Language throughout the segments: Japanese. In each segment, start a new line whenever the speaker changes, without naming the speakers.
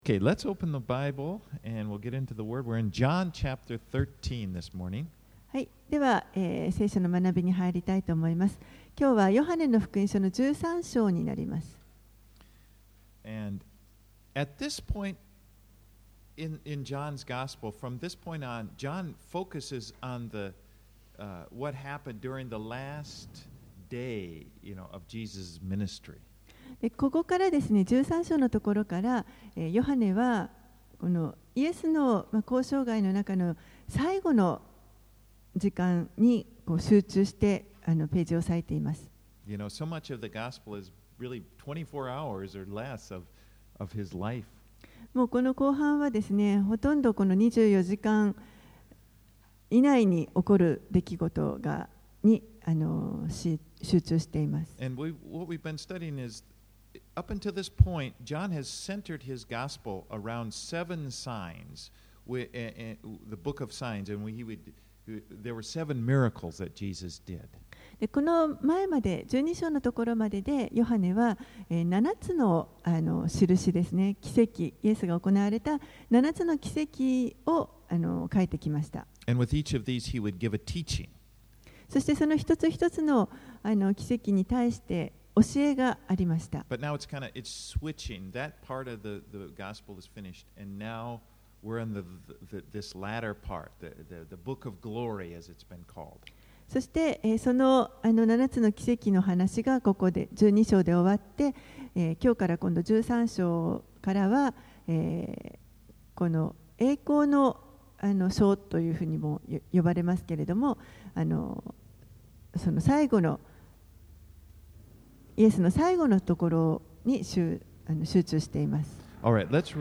Okay, let's open the Bible and we'll get into the Word. We're in John chapter 13 this morning.
はい、では、聖書の学びに入りたいと思います。今日はヨハネの福音書の13章になります。
And at this point in John's Gospel, from this point on, John focuses on what happened during the last day, of Jesus' ministry.
でここからですね、13章のところから、ヨハネはこのイエスの、交渉外の中の最後の時間にこう集中してページを割いています。
So much of the gospel is really 24 hours or less of his life.
もうこの後半はですね、ほとんどこの24時間以内に起こる出来事に集中しています。
And what we've been studying is up until this point, John has centered his gospel around 7 signs, the book of signs, and there were 7 miracles that Jesus did.
でこの前まで12章のところまででヨハネは7つの印ですね、奇跡、イエスが行われた7つの奇跡を書いてきました。
And with each of these, he would give a teaching.
そしてその一つ一つの奇跡に対して教えがありました。
But now it's switching. That part of the gospel is finished, and now we're in this latter part, the book of glory, as it's been called.
そしてその7つの奇跡の話がここで12章で終わって、今日から今度13章からは、この栄光の章というふうにも呼ばれますけれども、その最後のイエスの最後のところに集中しています。
All right, let's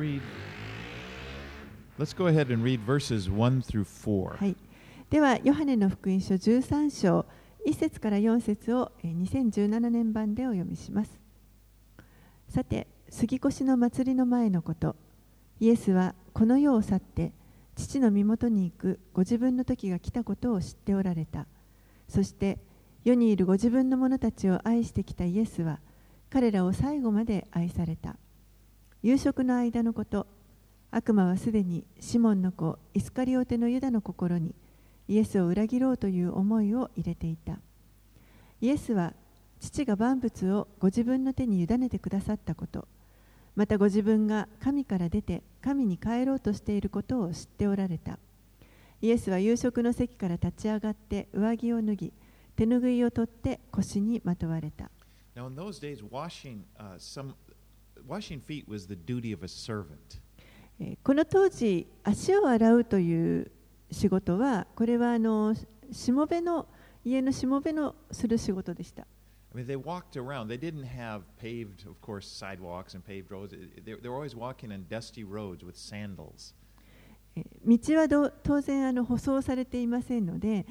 go ahead and read verses 1 through 4.
はい。では、ヨハネの福音書13章、1節から4節を2017年版でお読みします。さて、杉越の祭りの前のこと、イエスはこの世を去って、父の身元に行くご自分の時が来たことを知っておられた。そして、世にいるご自分の者たちを愛してきたイエスは、彼らを最後まで愛された。夕食の間のこと、悪魔はすでにシモンの子イスカリオテのユダの心にイエスを裏切ろうという思いを入れていた。イエスは父が万物をご自分の手に委ねてくださったこと、またご自分が神から出て神に帰ろうとしていることを知っておられた。イエスは夕食の席から立ち上がって上着を脱ぎ、手ぬぐいを取って腰にまとわれた。
Now in those days, washing feet was the duty of a servant.
この当時、足を洗うという仕事は、これは家のしもべのする仕事でした。
I mean, they walked around. They didn't have paved, of course, sidewalks and paved roads. They were always walking on dusty roads with sandals.
道は当然舗装されていませんので、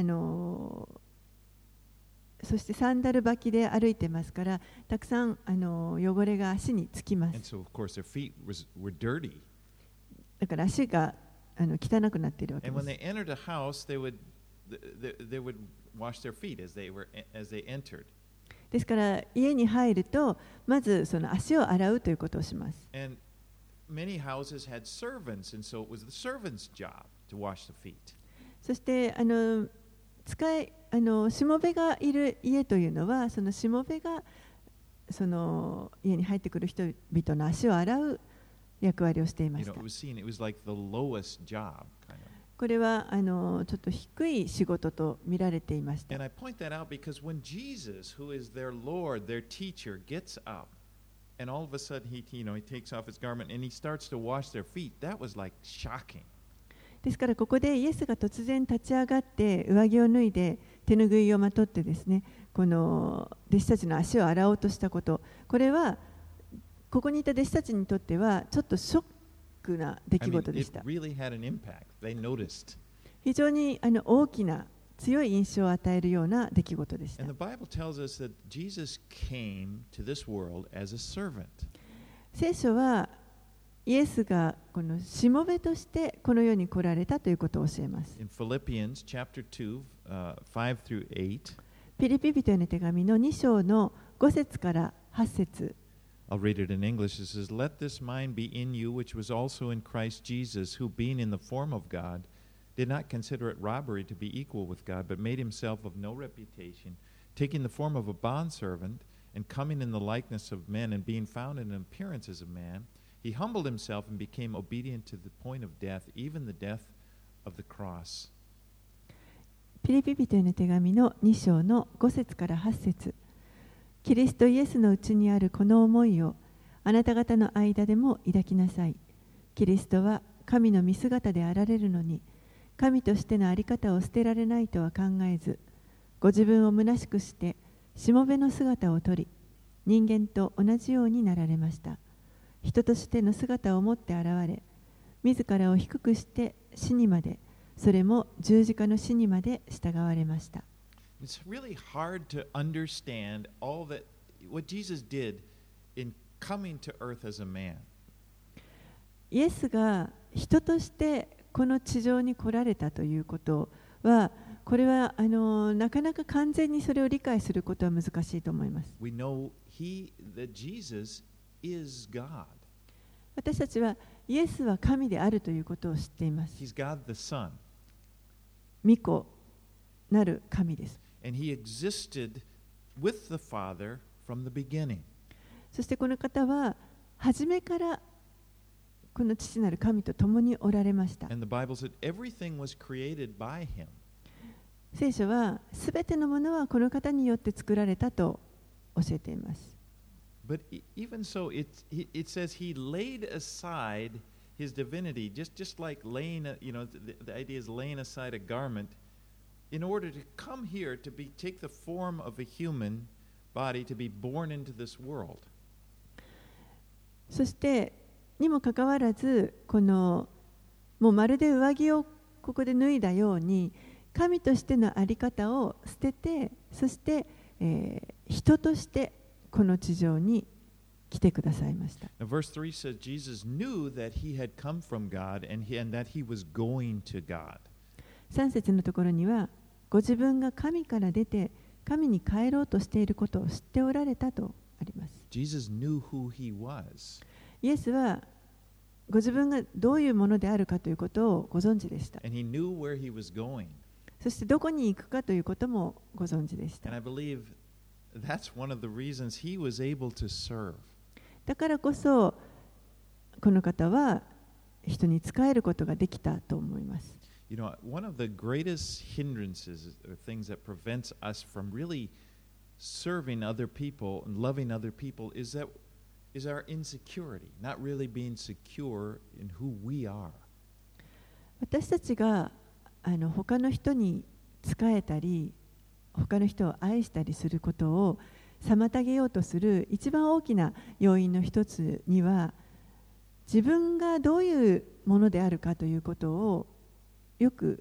そしてサンダル履きで歩いてますから、たくさん汚れが足につきます。
And so, of course, their feet were dirty.
だから足が汚くなっているわけで
And
す。
when they entered a house, they would wash their feet as they entered.
ですから家に入るとまずその足を洗うということをします。
And many houses had servants, and so it was the servants' job to wash the feet.
そしてしもべがいる家というのは、そのしもべがその家に入ってくる人々の足を洗う役割をしていました。
It was like the lowest job, kind of.
これはちょっと低い仕事と見られていました。
And I point that out because when Jesus, who is their Lord, their teacher, gets up, and all of a sudden he takes off his garment and he starts to wash their feet, that was like shocking.
ですからここでイエスが突然立ち上がって上着を脱いで手ぬぐいをまとってですね、この弟子たちの足を洗おうとしたこと、これはここにいた弟子たちにとってはちょっとショックな出来事でした。
I mean, it really had an impact. They noticed.
非常に大きな強い印象を与えるような出来事でした。
And the Bible tells us that Jesus came to this world as a servant.
聖書はイエスがこのしもべとしてこの世に来られたということを教えます。
In Philippians chapter 2, 5 through 8,
ピリピ人への手紙の2章の5節から8節。
I'll I'll read it in English. It says, Let this mind be in you, which was also in Christ Jesus, who being in the form of God, did not consider it robbery to be equal with God, but made himself of no reputation, taking the form of a bondservant, and coming in the likeness of men, and being found in appearance as a man, he humbled himself and became obedient to the point of death, even the death of the cross.
ピリピ人への手紙の2章の5節から8節。キリストイエスのうちにあるこの思いをあなた方の間でも抱きなさい。キリストは神の見姿であられるのに、神としての在り方を捨てられないとは考えず、ご自分を虚しくしてしもべの姿をとり、人間と同じようになられました。人としての姿を持って現れ、自らを低くして死にまで、それも十字架の死にまで従われました。
It's really hard to understand all that what Jesus did in coming to earth as a man.
イエスが人としてこの地上に来られたということは、これはなかなか完全にそれを理解することは難しいと思います。
We know that Jesus is God.
私たちはイエスは神であるということを知っています。
He's God the Son.
御子なる神です。
And he existed with the Father from the beginning.
そしてこの方は初めからこの父なる神と共におられました。
And the Bible said everything was created by him.
聖書はすべてのものはこの方によって作られたと教えています。
But even so, it says he laid aside his divinity, just like laying, the idea is laying aside a garment in order to come here to take the form of a human body to be born into this world.
そしてにもかかわらず、このもうまるで上着をここで脱いだように、神としての在り方を捨てて、そして、人としてこの地上に来てくださいました。
Now, verse 3 says Jesus knew that he had come from God and that he was going to God.
3節のところには、ご自分が神から出て神に帰ろうとしていることを知っておられたとあります。
Jesus knew who he was.
イエスはご自分がどういうものであるかということをご存知でした。
And he knew where he was going.
そしてどこに行くかということもご存知でした。
And I believe that's one of the reasons he was able to serve.
だからこそこの方は人に仕えることができたと思います。
You know, one of the greatest hindrances or things that prevents us from really serving other people and loving other people is our insecurity, not really being secure in who we are.
私たちが他の人に仕えたり、他の人を愛したりすることを妨げようとする一番大きな要因の一つには、自分がどういうものであるかということをよく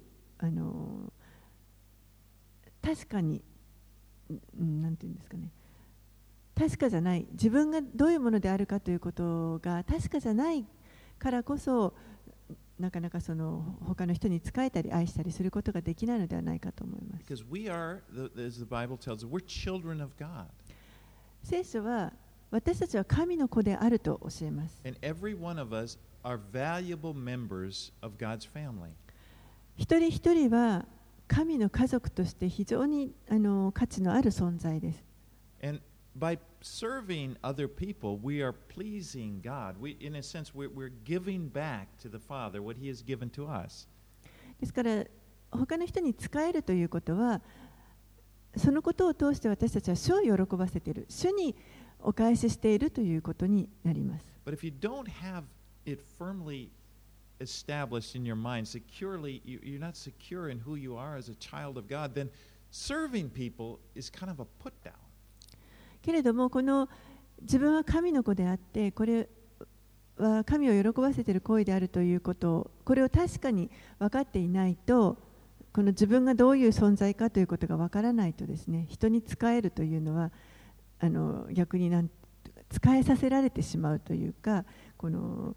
確かになんていうんですかね、確かじゃない、自分がどういうものであるかということが確かじゃないからこそ、なかなかその他の人に仕えたり愛したりすることができないのではないかと思います。
Because we are, as the Bible tells us, we're children of God.
聖書は私たちは神の子であると教えます。
And every one of us are valuable members of God's family.
一人一人は神の家族として非常に価値のある存在です。
And by serving other people, we are pleasing God. In a sense, we're giving back to the Father what He has given to us.
ですから他の人に仕えるということは、そのことを通して私たちは主を喜ばせている、主にお返ししているということになります。
But if you don't have it firmly established in your mind, securely, you're not secure in who you are as a child of God, then serving people is kind of a put down.
けれども、この自分は神の子であって、これは神を喜ばせている行為であるということを、これを確かに分かっていないと、この自分がどういう存在かということが分からないとですね、人に仕えるというのは逆に仕えさせられてしまうというか、この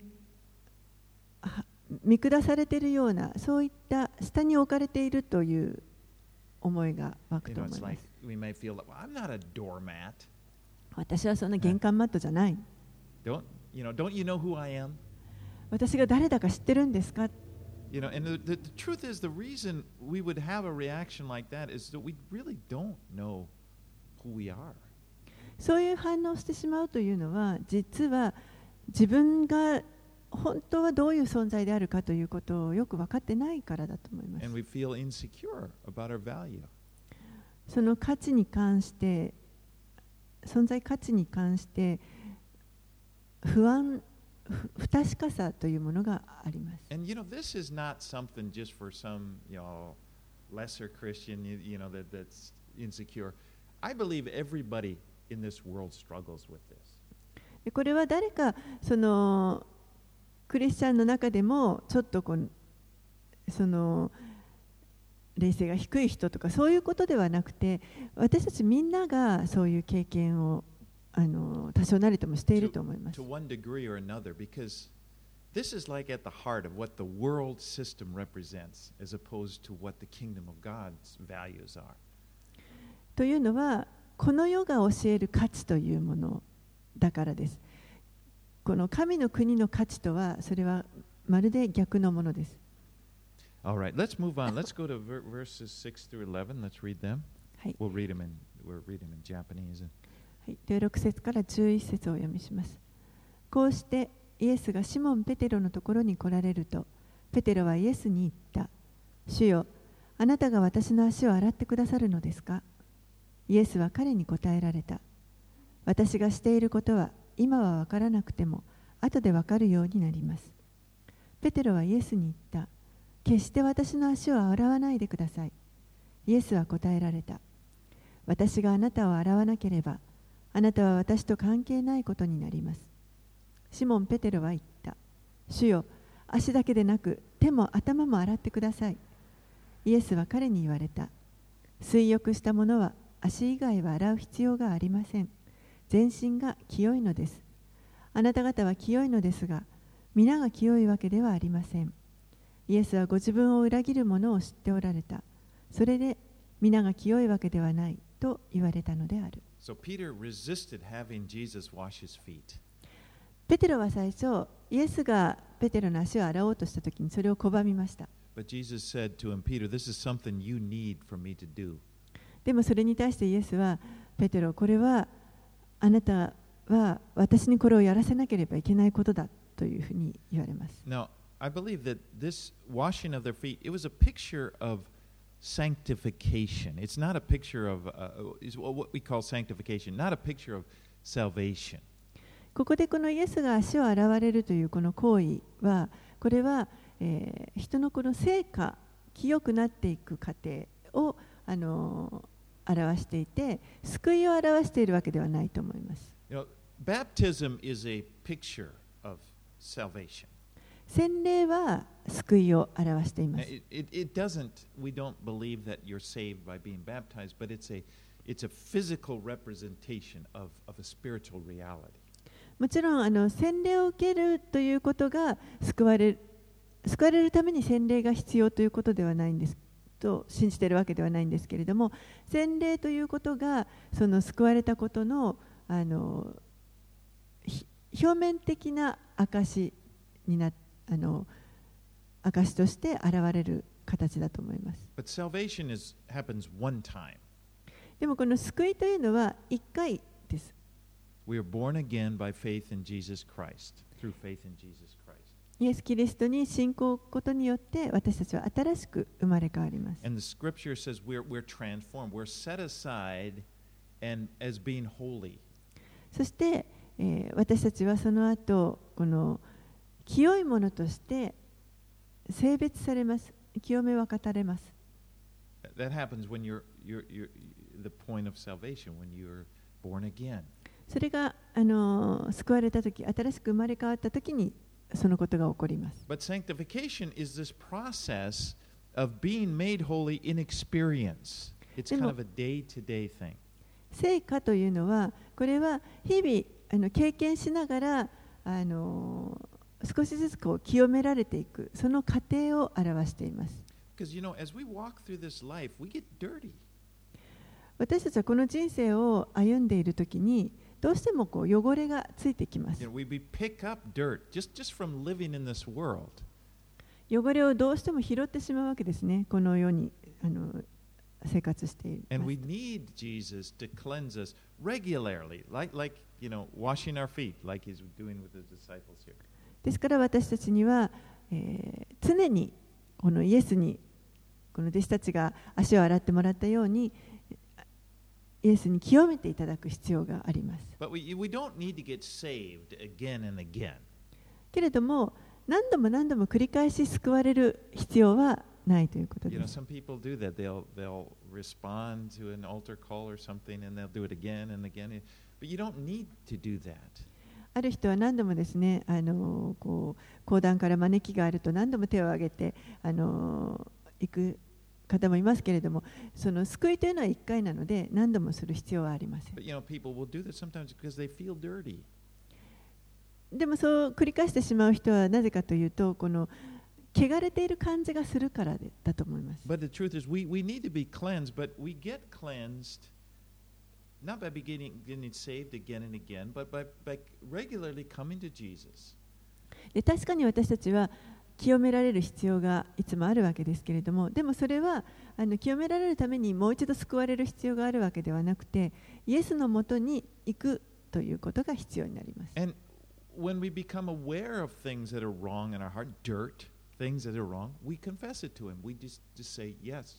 見下されているような、そういった下に置かれているという思いが湧くと思います。
We may feel that, well, I'm not a doormat.
私はそんな玄関マットじゃない。
Don't you know who I am?
私が誰だか知ってるんですか。
And the truth is, the reason we would have a reaction like that is that we really don't know who we are.
そういう反応をしてしまうというのは、実は自分が本当はどういう存在であるかということをよく分かってないからだと思います。
And we feel insecure about our value.
その価値に関して、存在価値に関して不確かさというものがあります。
And this is not something just for some, lesser Christian, that's insecure. I believe everybody in this world struggles with this.
これは誰かそのクリスチャンの中でもちょっとその霊性が低い人とかそういうことではなくて、私たちみんながそういう経験を多少なりともしていると思います。
To one degree or another, because this is like at the heart of what the world system represents, as opposed to what the kingdom of God's values are.
というのは、この世が教える価値というものだからです。この神の国の価値とは、それはまるで逆のものです。
All right, let's move on. Let's go to verses 6 through 11. Let's read them.
はい。
We'll read them in Japanese.
はい、では6節から11節をお読みします。こうしてイエスがシモン・ペテロのところに来られると、ペテロはイエスに言った。主よ、あなたが私の足を洗ってくださるのですか。イエスは彼に答えられた。私がしていることは今は分からなくても後で分かるようになります。ペテロはイエスに言った。決して私の足を洗わないでください。イエスは答えられた。私があなたを洗わなければ、あなたは私と関係ないことになります。シモン・ペテロは言った。主よ、足だけでなく手も頭も洗ってください。イエスは彼に言われた。水浴した者は足以外は洗う必要がありません。全身が清いのです。あなた方は清いのですが、皆が清いわけではありません。イエスはご自分を裏切る者を知っておられた。それで皆が清いわけではないと言われたのである。
So Peter resisted having Jesus wash his feet.
ペテロは最初、イエスがペテロの足を洗おうとしたときにそれを拒みました。
But Jesus said to him, Peter, this is something you need for me to do.
でもそれに対してイエスは、ペテロ、これはあなたは私にこれをやらせなければいけないことだというふうに言われます。
Now, I believe that this washing of their feet, it was a picture of sanctification. It's not a picture of what we call sanctification, not a picture of salvation.
ここでこのイエスが足を洗われるというこの行為は、これは、人のこの成果、清くなっていく過程を表していて、救いを表しているわけではないと思います。
Baptism is a picture of salvation.
洗礼は救いを表しています。
We don't believe that you're saved by being baptized, but it's a physical representation of a spiritual reality.
もちろん洗礼を受けるということが救われるために洗礼が必要ということではないんですと信じているわけではないんですけれども、洗礼ということがその救われたことの表面的な証に証として現れる形だと思います。
But salvation happens one time.
でもこの救いというのは一回です。
We are born again by faith in Jesus Christ, through faith in Jesus Christ.
イエス・キリストに信仰を置くことによって私たちは新しく生まれ変わります。
And the scripture says we're transformed, we're set aside and as being holy.
そして、私たちはその後この清いものとして性別されます。清めは語れます。
That happens when you're the point of salvation, when you're born again.
それが救われたとき、新しく生まれ変わったときにそのことが起こります。
But sanctification is this process of being made holy in experience. It's kind of a day-to-day thing.
聖化というのは、これは日々経験しながら少しずつ清められていく、その過程を表しています。
Because as we walk through this life, we get dirty.
私たちはこの人生を歩んでいるときに、 どうしてもこう汚れがついてきます。
We pick up dirt just from living in this world.
汚れをどうしても拾ってしまうわけですね。この世に生活している。
And we need Jesus to cleanse us regularly, like washing our feet, like he's doing with his disciples here.
ですから私たちには、常にこのイエスにこの弟子たちが足を洗ってもらったようにイエスに清めていただく必要があります。
But we don't need to get saved again and again.
けれども何度も何度も繰り返し救われる必要はないということです。
Some people do that. They'll respond to an altar call or something, and they'll do it again and again. But you don't need to do that.
ある人は何度もですね、こう講談から招きがあると何度も手を挙げて行く方もいますけれども、その救いというのは1回なので何度もする必要はありません。
But people will do that sometimes because they feel dirty.
でもそう繰り返してしまう人はなぜかというと、この汚れている感じがするからだと思います。
But the truth is, we need to be cleansed, but we get cleansed not by getting saved again and again, but by regularly coming to Jesus.
で確かに私たちは清められる必要がいつもあるわけですけれども、でもそれは清められるためにもう一度救われる必要があるわけではなくて、イエスのもとに行くということが必要になります。
And when we become aware of things that are wrong in our heart, dirt, things that are wrong, we confess it to Him. We just say, yes,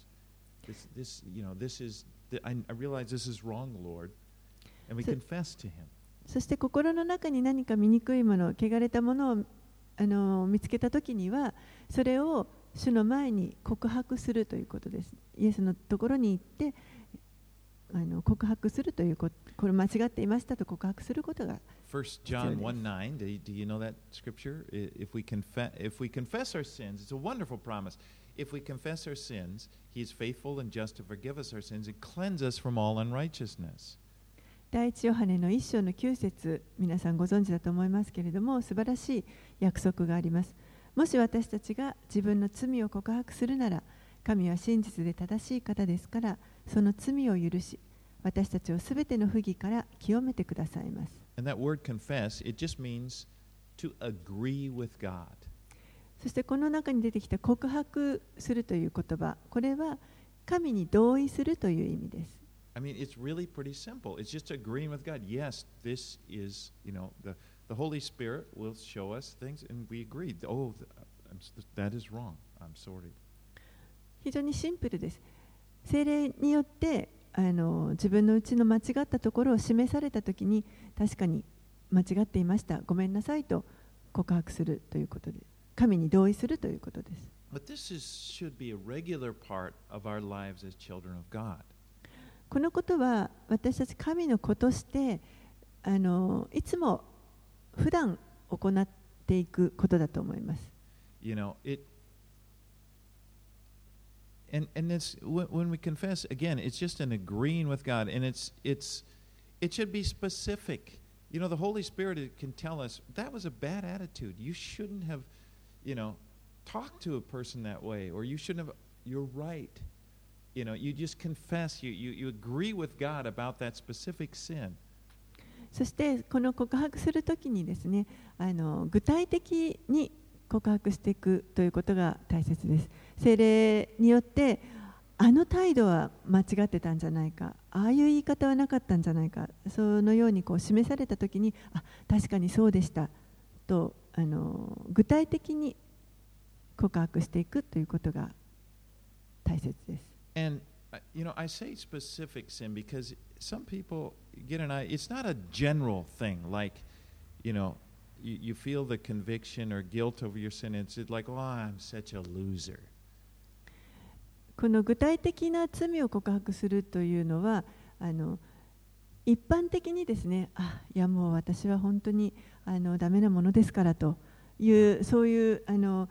I realize this is wrong, Lord, and we confess to Him.
そして心の中に何か醜いもの、汚れたものを見つけたときには、それを主の前に告白するということです。イエスのところに行って告白するということ、これ間違っていましたと告白することが
1 John 1:9, do you know that scripture? If we confess our sins, it's a wonderful promise. If we confess our sins, He is faithful and just to forgive us our sins and cleanse us from all unrighteousness.
第一ヨハネの1章の9節、皆さんご存知だと思いますけれども、素晴らしい約束があります。もし私たちが自分の罪を告白するなら、神は真実で正しい方ですから、その罪を許し、私たちをすべての不義から清めてくださいます。
And that word confess, it just means to agree with God.
そしてこの中に出てきた告白するという言葉、これは神に同意するという意味です。
I mean, it's really pretty simple. It's just agreeing with God. Yes, this is, the Holy Spirit will show us things, and we agree. Oh, that is wrong. I'm sorry.
非常にシンプルです。聖霊によって自分のうちの間違ったところを示されたときに、確かに間違っていました、ごめんなさいと告白するということで、神に同意するということです。
But this should be a regular part of our lives as children of God.
このことは私たち神の子としていつも普段行っていくことだと思います。
And this, when we confess, again, it's just an agreeing with God, and it should be specific. The Holy Spirit can tell us that was a bad attitude. You shouldn't have, talked to a person that way, or you shouldn't have. You're right. You just confess. You agree with God about that specific sin.
そしてこの告白するときにですね、具体的に告白していくということが大切です。聖霊によって態度は間違ってたんじゃないか、ああいう言い方はなかったんじゃないか、そのように示されたときに、確かにそうでしたと具体的に告白していくということが大切です。
And I say specific sin because some people get an idea. It's not a general thing like, you feel the conviction or guilt over your sin. It's like, oh, I'm such a loser.
この具体的な罪を告白するというのは一般的にですね、いやもう私は本当にダメなものですからというそういう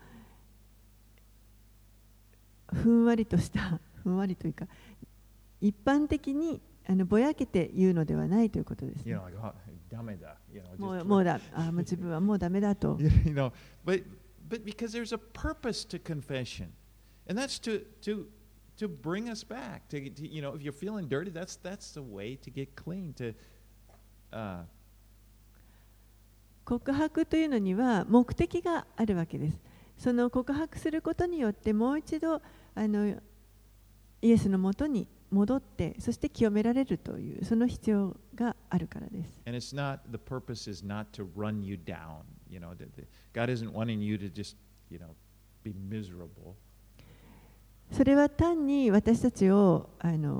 ふんわりとしたふんわりというか一般的にぼやけて言うのではないということですね。もう自分はもうダメだと。
But because there's a purpose to confession, and that's to bring us back. If you're feeling dirty, that's the way to get clean.
告白というのには目的があるわけです。その告白することによってもう一度イエスのもとに戻ってそして清められるというその必要があるからです。
And it's not, the purpose is not to run you down. God isn't wanting you to just, be miserable.
それは単に私たちを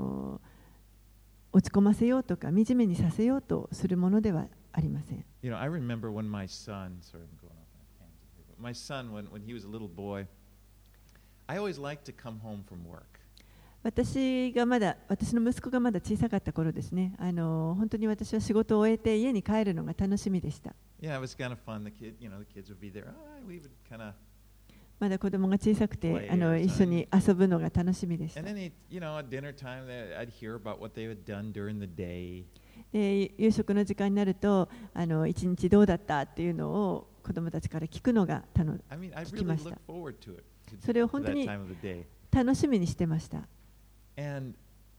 落ち込ませようとか惨めにさせようとするものではありません。
I remember when my son, sorry, I'm going off on a tangent here, but my son, when he was a little boy, I always liked to come home from work.
私の息子がまだ小さかった頃ですね、本当に私は仕事を終えて家に帰るのが楽しみでした。
Yeah, it was kind of fun. The kids would be there. We would kind of
まだ子供が小さくて一緒に遊ぶのが楽しみでした。
And then, at dinner time, I'd hear about what they had done during the day.
夕食の時間になると一日どうだったっていうのを子供たちから聞くのが聞きました。それを本当に楽しみにしてました。
And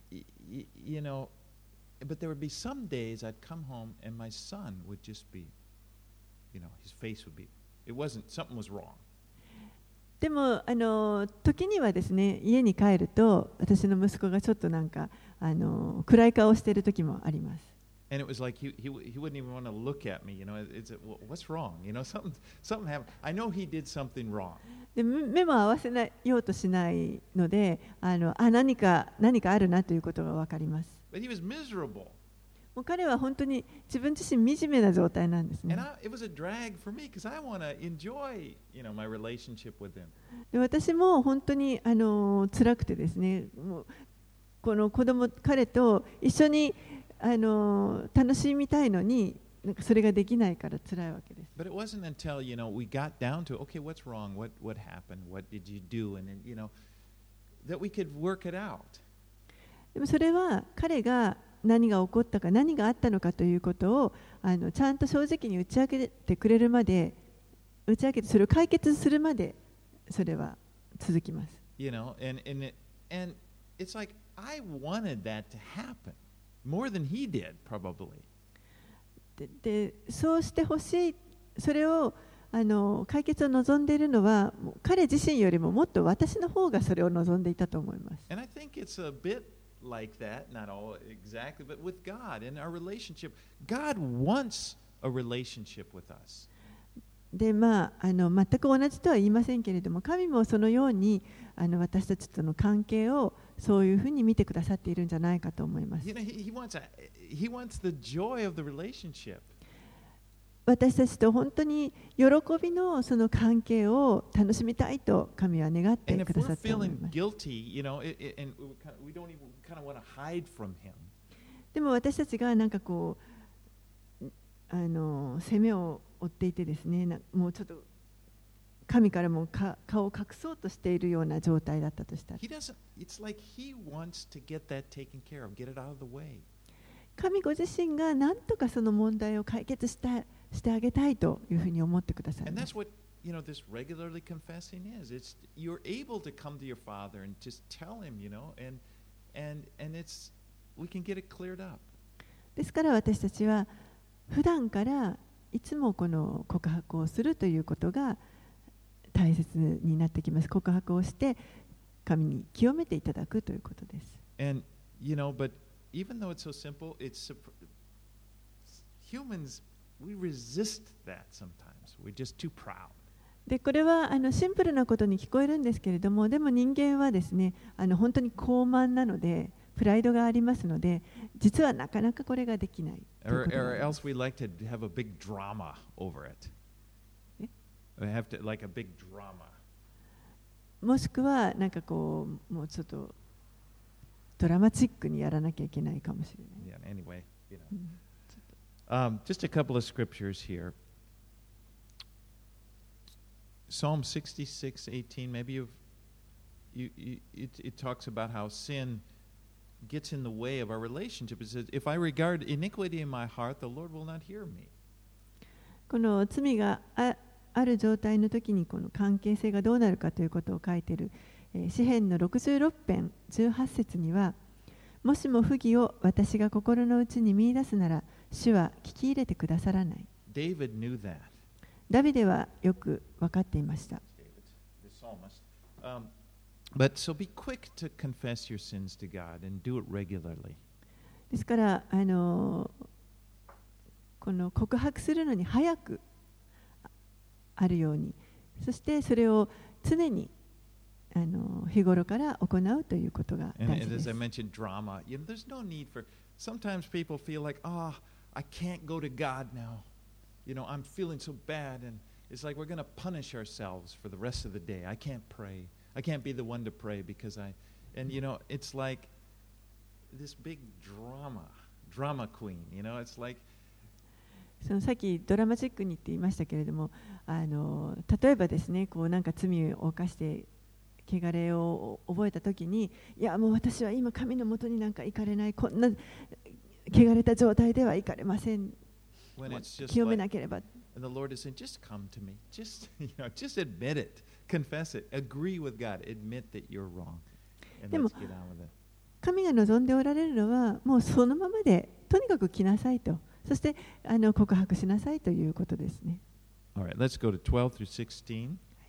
but there would be some days I'd come home and my son would just be, his face would be, it wasn't, something was wrong.
でも時にはですね、家に帰ると私の息子がちょっとなんか暗い顔をしている時もあります。
And it was like he wouldn't even want to look at me. What's wrong? Something happened. I know he did something wrong.
で目も合わせようとしないので、何かあるなということが分かります。
But he was miserable.
もう彼は本当に自分自身惨めな状態なんですね。
It was a drag for me because I want to enjoy, my relationship with him.
で私も本当に辛くてですね、もうこの彼と一緒に楽しみたいのに、なんかそれができないから辛いわけです。
But it wasn't until we got down to okay, what's wrong? What happened? What did you do? And then that we could work it out.
でもそれは彼が何が起こったか何があったのかということをちゃんと正直に打ち明けてくれるまで、打ち明けてそれを解決するまでそれは続きます。
And it's like I wanted that to happen more than he did probably.
でそうしてほしい、それを解決を望んでいるのは彼自身よりももっと私の方がそれを望んでいたと思います。
And I think it's a bit like that, not all exactly, but with God in our relationship, God wants a relationship with us.
で全く同じとは言いませんけれども、神もそのように私たちとの関係をそういうふうに見てくださっているんじゃないかと思います。
He wants the joy of the relationship.
私たちと本当に喜びのその関係を楽しみたいと神は願ってくださっています。でも私たちがなんかこう責めを負っていてですね、もうちょっと神からも顔を隠そうとしているような状態だったとしたら、神ご自身が何とかその問題を解決してあげたいというふうに思ってくださいます。
This regularly confessing is. You're able to come to your Father and just tell Him, and we can get it cleared up.
ですから私たちは普段からいつもこの告白をするということが大切になってきます。告白をして神に清めていただくということです。
And but even though it's so simple, humans we resist that sometimes. We're just too proud.
でこれはシンプルなことに聞こえるんですけれども、でも人間はですね本当に高慢なのでプライドがありますので、実はなかなかこれができない。
Or else we like to have a big drama over it. We have to like a big drama.
もしくはなんかこうもうちょっとドラマチックにやらなきゃいけないかもしれない。
Yeah, anyway, just a couple of scriptures here. Psalm 66:18. Maybe it talks about how sin gets in the way of our relationship. It says, "If I regard iniquity in my heart, the Lord will not hear me."
この罪がある状態の時にこの関係性がどうなるかということを書いている詩編の66編18節には、もしも不義を私が心の内に見出すなら主は聞き入れてくださらない。
David knew that.
ダビデはよく分かっていました。
The psalmist. But so be quick to confess your sins to God and do it regularly.
ですからこの告白するのに早くあるように、そしてそれを常に日頃から行うということが大事
And
で
as
す。
I mentioned, drama. There's no need for. Sometimes people feel like, I can't go to God now. I'm feeling so bad, and it's like we're going to punish ourselves for the rest of the day. I can't pray. I can't be the one to pray because it's like this big drama queen. It's like.
そのさっきドラマチックにって言いましたけれども、例えばですね、こうなんか罪を犯して汚れを覚えたときに、いやもう私は今神のもとになんか行かれない、こんな汚れた状態では行かれません。清めなければ。
And the Lord is saying, just come to me. Just admit it. Confess it. Agree with God. Admit that you're wrong. And let's get on with it.
神が望んでおられるのは、もうそのままでとにかく来なさいと。そして告白しなさいということですね。
All right, let's go to 12 through 16.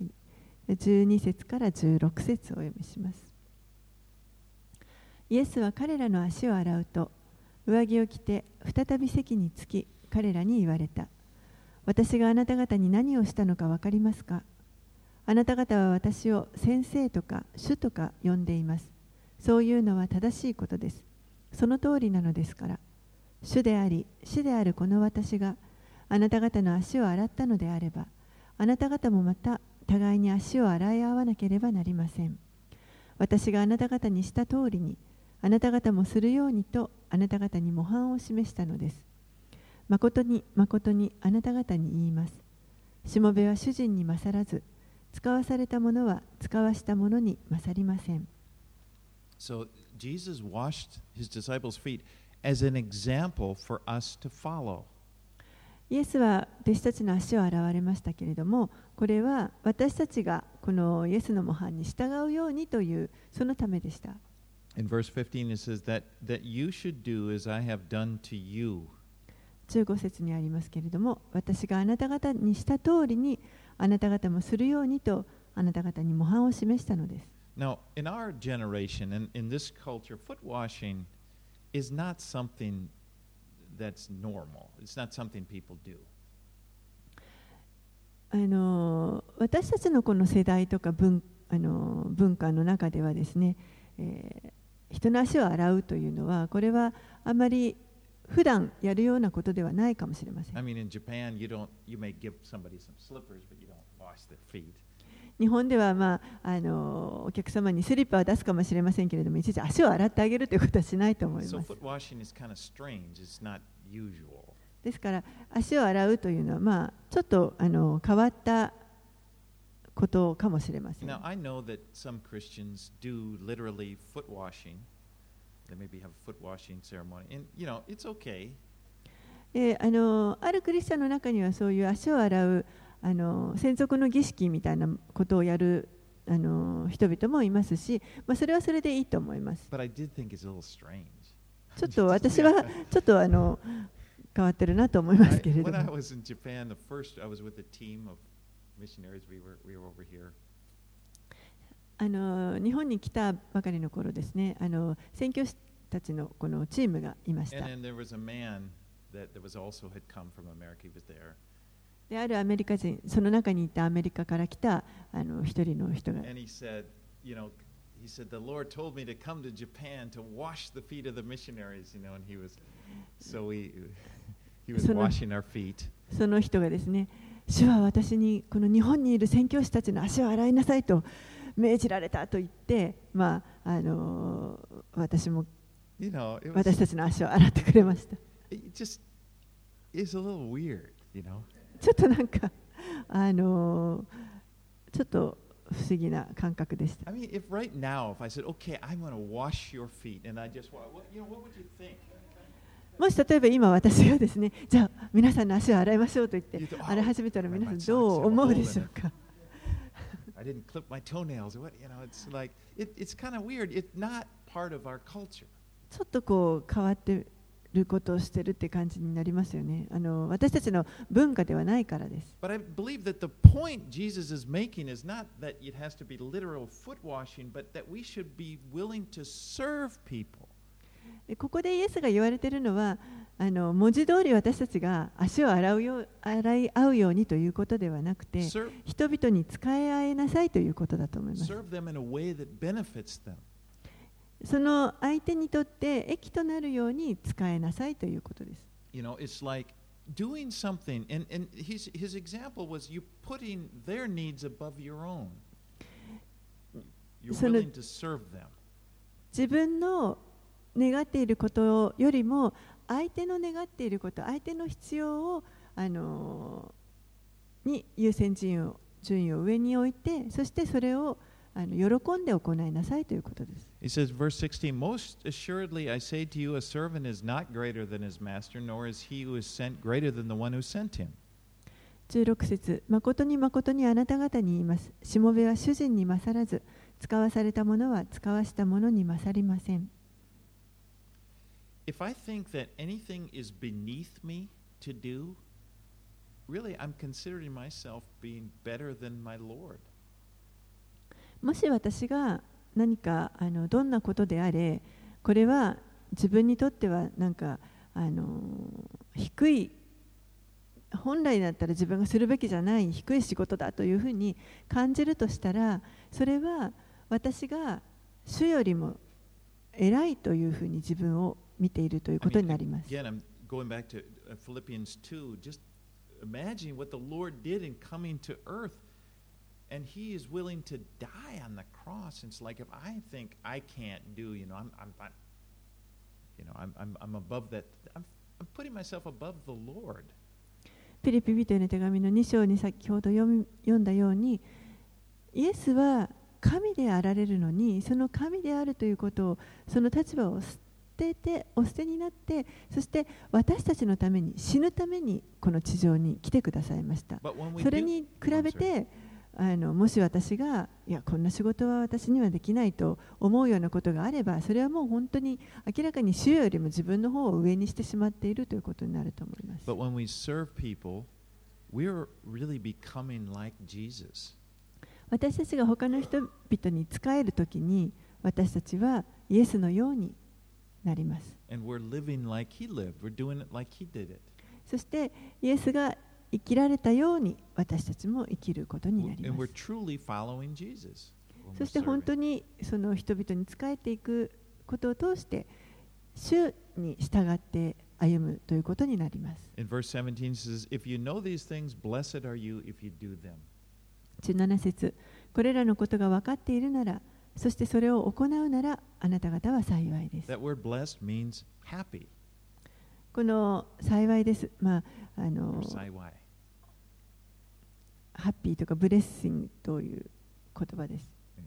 12節から16節をお読みします。イエスは彼らの足を洗うと、上着を着て再び席につき、彼らに言われた。私があなた方に何をしたのか分かりますか？あなた方は私を先生とか主とか呼んでいます。そういうのは正しいことです。その通りなのですから。主であり、主であるこの私があなた方の足を洗ったのであれば、あなた方もまた互いに足を洗い合わなければなりません。私があなた方にした通りに、あなた方もするようにとあなた方に模範を示したのです。誠に誠にあなた方に言います。しもべは主人に勝らず、使わされたものは使わしたものに勝りません。
So Jesus washed his disciples' feet as an example for us to follow.
イエスは弟子たちの足を洗われましたけれども、これは私たちがこのイエスの模範に従うようにというそのためでした。
In verse 15 it says that you should do as I have done to you.
15節にありますけれども、私があなた方にした通りにあなた方もするようにとあなた方に模範を示したのです。
Now, in our generation and in this culture, foot washing is not something that's normal. It's not something people do.
私たちのこの世代とか文化の中ではですね、人の足を洗うというのはこれはあまり普段やるようなことではないかもしれません。
I mean, in Japan, you may give somebody some slippers, but you don't wash their feet.
日本では、お客様にスリッパは出すかもしれませんけれども、いちいち足を洗ってあげるということはしないと思います。
So foot washing is kind of strange. It's not usual.
ですから足を洗うというのは、ちょっと変わったことかもしれません。
Now, I know that some Christians do literally foot washing. They maybe have a foot washing ceremony, and it's okay.
あるクリスチャンの中にはそういう足を洗う専属の儀式みたいなことをやる人々もいますし、それはそれでいいと思います。
But I did think it's a little strange.
ちょっと私はちょっと変わってるなと思いますけれども。
When I was in Japan, the first I was with a team of missionaries. We were over here.
日本に来たばかりの頃ですね、宣教師たちのこのチームがいました。
And then there was a man that was also had come from America. He was there.
であるアメリカ人、その中にいたアメリカから来た一人の人が。
And he said, the Lord told me to come to Japan to wash the feet of the missionaries, and he was washing our feet.
その人がですね、主は私にこの日本にいる宣教師たちの足を洗いなさいと命じられたと言って、私たちの足を洗ってくれました。
It just is a little weird,
ちょっとなんかちょっと不思議な感覚でした。
I mean, if right now, if I said, "Okay, I'm going to wash your feet," and I just, what would you think?
もし例えば今私がですね、じゃあ皆さんの足を洗いましょうと言って洗い始めたら皆さんどう思うでしょうか。
I didn't clip my toenails. It's like it's kind of weird. It's not part of our culture.
ちょっとこう変わってることをしているって感じになりますよね。私たちの文化ではないからです。
But I believe that the point Jesus is making is not that it has to be literal foot washing, but that we should be willing to serve people.
ここでイエスが言われているのは、文字通り私たちが足を洗い合うようにということではなくて、人々に仕え合いなさいということだと思います。
Serve them in a way that benefits them.
その相手にとって益となるように使えなさいということです。
You know, it's like doing something, and his example was you putting their needs above your own. You're willing to serve them.
自分の願っていることよりも相手の願っていること、相手の必要をに優先順位を上に置いて、そしてそれを喜んで行いなさいということです。
He says, verse 16, Most assuredly I say to you, a servant is not greater than his master, nor is he who is sent greater than the one who sent him.
16節、誠に誠にあなた方に言います。しもべは主人に勝らず、使わされた者は使わした者に勝りません。
If I think that anything is beneath me to do, really I'm considering myself being better than my Lord.
もし私が何かどんなことであれ、これは自分にとってはなんか低い、本来だったら自分がするべきじゃない低い仕事だというふうに感じるとしたら、それは私が主よりも偉いというふうに自分を見ているということになります。
Again, I'm going back to Philippians 2. Just imagine what the Lord did in coming to earth, and He is willing to die on the cross. It's like if I think I can't do, I'm above that. I'm putting myself above the Lord.
ピリピ人への手紙の2章に先ほど読んだように、イエスは神であられるのに、その神であるということを、その立場をお捨てになって、そして私たちのために死ぬためにこの地上に来てくださいました。それに比べてもし私がこんな仕事は私にはできないと思うようなことがあれば、それはもう本当に明らかに主よりも自分の方を上にしてしまっているということになると思います。
But when we serve people, we're really becoming like Jesus.
私たちが他の人々に仕えるときに、私たちはイエスのようになります。
And we're living like He lived. We're doing it like He did it.
そしてイエスが生きられたように私たちも生きることになります。そして本当にその人々に仕えていくことを通して主に従って歩むということになります。
In verse 17 says, If you know these things, blessed are you if you do them.
17節、これらのことが分かっているなら、そしてそれを行うならあなた方は幸いです。
That word blessed means happy.
この幸いです。ハッピーとかブレッシングという言葉です。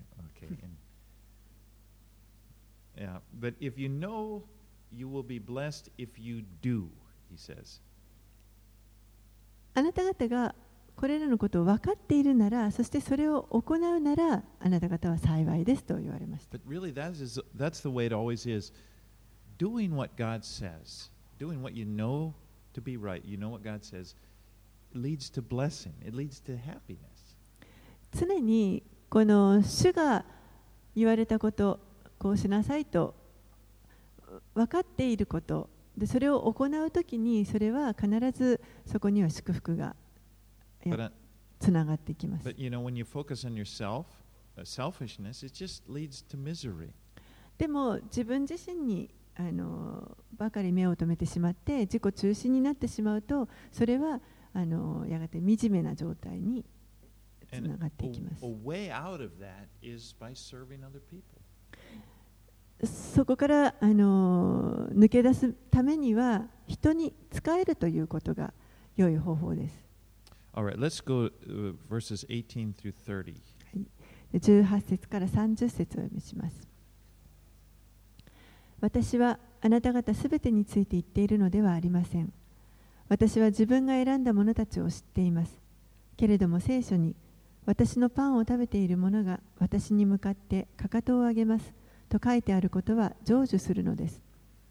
Yeah, but if you know, you will be blessed if you do, he says.
あなた方がこれらのことを分かっているなら、そしてそれを行うなら、あなた方は幸いですと言われました。
But really, that's the way it always is. Doing what God says, doing what you know to be right, you know what God says, leads to blessing. It leads to happiness.
常にこの主が言われたこと、こうしなさいと分かっていることで、それを行うときに、それは必ずそこには祝福がつながっていきます。
But you know, when you focus on yourself, selfishness, it just leads to misery.
でも自分自身にばかり目を留めてしまって自己中心になってしまうと、それはやがて惨めな状態につながっていきます。
A way out of that is by serving other people.
そこから抜け出すためには人に仕えるということが良い方法です。
Alright, let's go verses 18 through 30.
18節から30節を読みします。私はあなた方すべてについて言っているのではありません。私は自分が選んだ者たちを知っています。けれども聖書に、私のパンを食べている者が私に向かってかかとを上げますと書いてあることは成就するのです。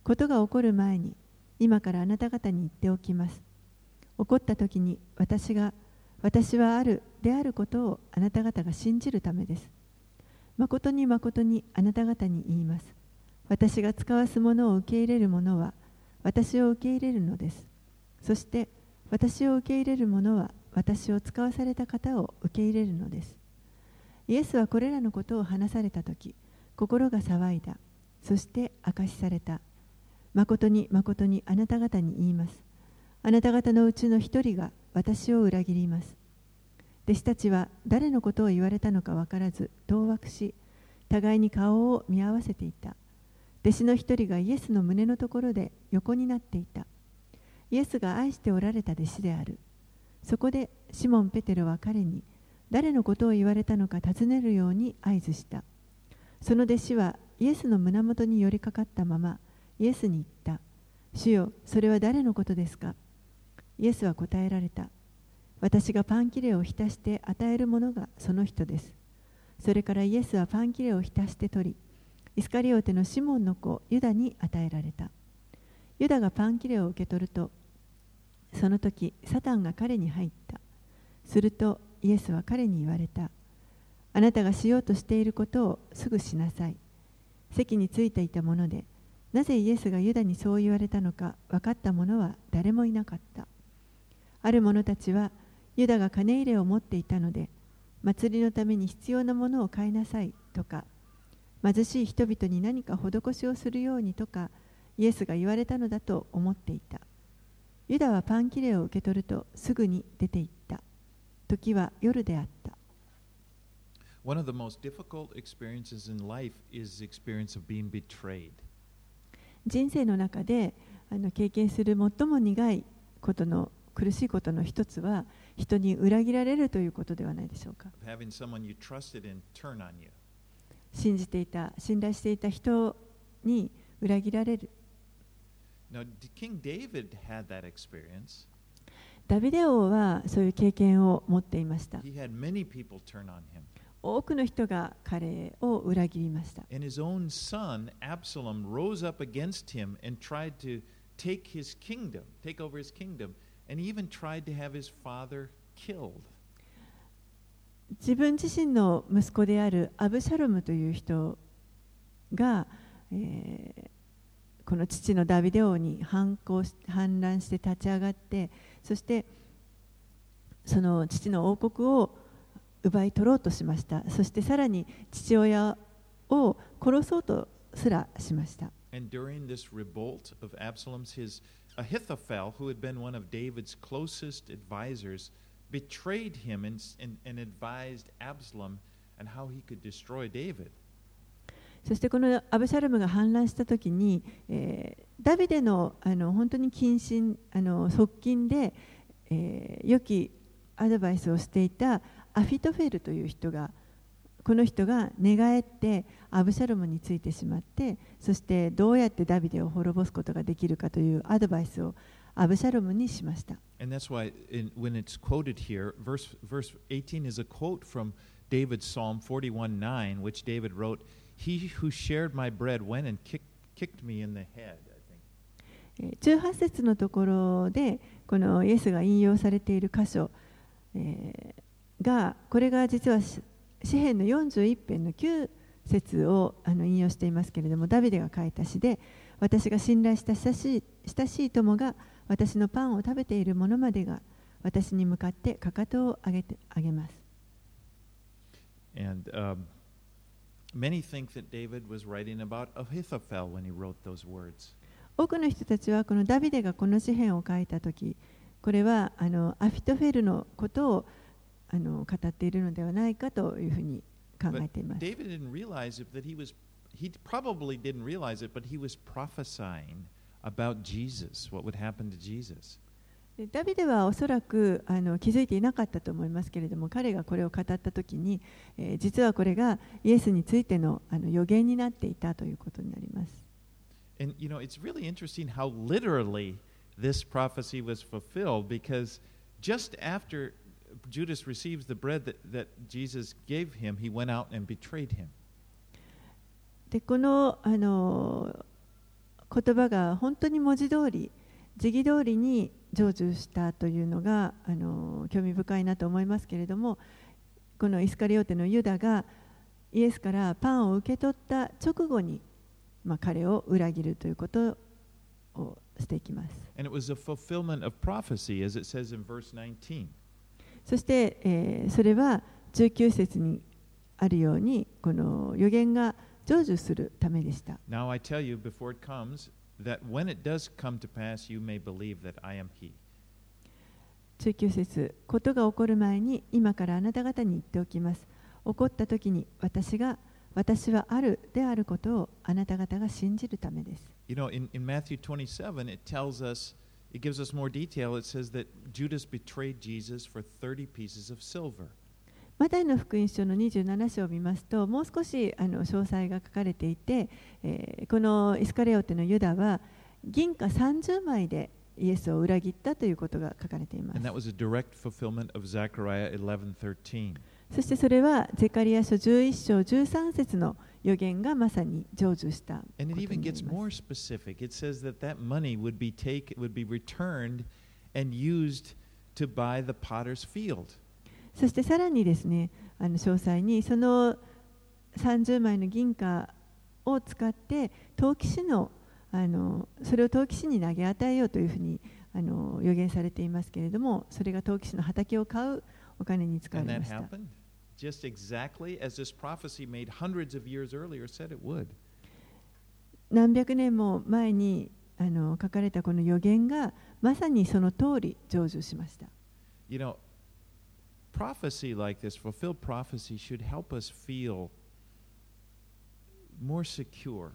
ことが起こる前に、今からあなた方に言っておきます。起こったときに私はあるであることをあなた方が信じるためです。誠に誠にあなた方に言います。私が使わすものを受け入れる者は私を受け入れるのです。そして私を受け入れる者は私を使わされた方を受け入れるのです。イエスはこれらのことを話されたとき、心が騒いだ。そして明かしされた。誠に誠にあなた方に言います。あなた方のうちの一人が私を裏切ります。弟子たちは誰のことを言われたのか分からず、当惑し、互いに顔を見合わせていた。弟子の一人がイエスの胸のところで横になっていた。イエスが愛しておられた弟子である。そこでシモン・ペテロは彼に誰のことを言われたのか尋ねるように合図した。その弟子はイエスの胸元に寄りかかったままイエスに言った。主よ、それは誰のことですか？イエスは答えられた。私がパン切れを浸して与えるものがその人です。それからイエスはパン切れを浸して取り、イスカリオテのシモンの子ユダに与えられた。ユダがパン切れを受け取ると、その時サタンが彼に入った。するとイエスは彼に言われた。あなたがしようとしていることをすぐしなさい。席についていたもので、なぜイエスがユダにそう言われたのか分かった者は誰もいなかった。ある者たちはユダが金入れを持っていたので、祭りのために必要なものを買いなさいとか、貧しい人々に何か施しをするようにとか、イエスが言われたのだと思っていた。ユダはパン切れを受け取るとすぐに出て行った。時は夜であった。
One of the most difficult experiences in life is the experience of being betrayed.
人生の中で経験する最も苦いことの苦しいことの一つは人に裏切られるということではないでしょうか。
Having someone you trusted and turn on you.
信じていた、信頼していた人に裏切られる。
Now, King David had that experience.
ダビデ王はそういう経験を持っていました。
He had many people turn on him.
多くの人が彼を裏切りました。
And his own son, Absalom, rose up against him and tried to take his kingdom, take over his kingdom, and he even tried to have his father killed.
自分自身の息子であるアブシャロムという人が、この父のダビデ王に反乱して立ち上がって、そしてその父の王国を奪い取ろうとしました。そしてさらに父親を殺そうとすらしました。
And during this revolt of Absalom's, his Ahithophel, who had been one of David's closest advisors, betrayed him and advised Absalom on how he could destroy David.
そしてこのアブシャロムが反乱したときに、ダビデの本当に近親側近で、良きアドバイスをしていたアフィトフェルという人が、この人が寝返ってアブシャロムについてしまって、そしてどうやってダビデを滅ぼすことができるかというアドバイスをアブシャロムにしました。
And that's why when it's quoted here, verse 18 is a quote from David's Psalm 41:9, which David wrote, He who shared my bread went and kicked me in the head.
18節のところでこのイエスが引用されている箇所、がこれが実は詩編の41編の9節を引用していますけれども、ダビデが書いた詩で、私が信頼した親しい友が私のパンを食べている者までが私に向かってかかとを上げます。
And many think that David was writing about Ahithophel when he wrote those words.
多くの人たちはこのダビデがこの詩編を書いたとき、これはアフィトフェルのことを語っているのではないかというふうに考えています。
David didn't realize it, that he probably didn't realize it, but he was prophesying about Jesus, what would happen to Jesus.
ダビデはおそらく気づいていなかったと思いますけれども、彼がこれを語ったときに、実はこれがイエスについての予言になっていたということになります。
And you know, it's really interesting how literally this prophecy was fulfilled, because just after Judas receives the bread that Jesus gave him, he went out and betrayed him.
でこの言葉が本当に文字通り、字義通りに成就したというのが興味深いなと思いますけれども、このイスカリオテのユダがイエスからパンを受け取った直後に、彼を裏切るということをしていきます。
And it was a fulfillment of prophecy, as it says in verse 19.
そして、それは19節にあるように、この預言が成就するためでした。
Now I tell you before it comes, that when it does come to pass, you may believe that I am He.
19節、ことが起こる前に今からあなた方に言っておきます。起こった時に私はあるであることをあなた方が信じるためです。
You know, in Matthew 27, it tells us, it gives us more detail. It says that Judas betrayed Jesus for 30 pieces of silver.
マタイの福音書の27章を見ますと、もう少し詳細が書かれていて、このイスカリオテのユダは銀貨30枚でイエスを裏切ったということが書かれています。
And that was a direct fulfillment of Zechariah 11:13.
そしてそれはゼカリア書11章13節の預言がまさに成就したことに
And
な
it
り
even gets
ます。
more specific. It says that that money would be returned and used to buy the potter's field.
そしてさらにですね、詳細にその30枚の銀貨を使って陶器師のそれを陶器師に投げ与えようというふうに予言されていますけれども、それが陶器師の畑を買うお金に使わ
And
れ
that
ました。
happened just exactly as this prophecy made hundreds of years earlier said it would.
何百年も前に書かれたこの予言がまさにその通り成就しました。
You know, prophecy like this, fulfilled prophecy, should help us feel more secure.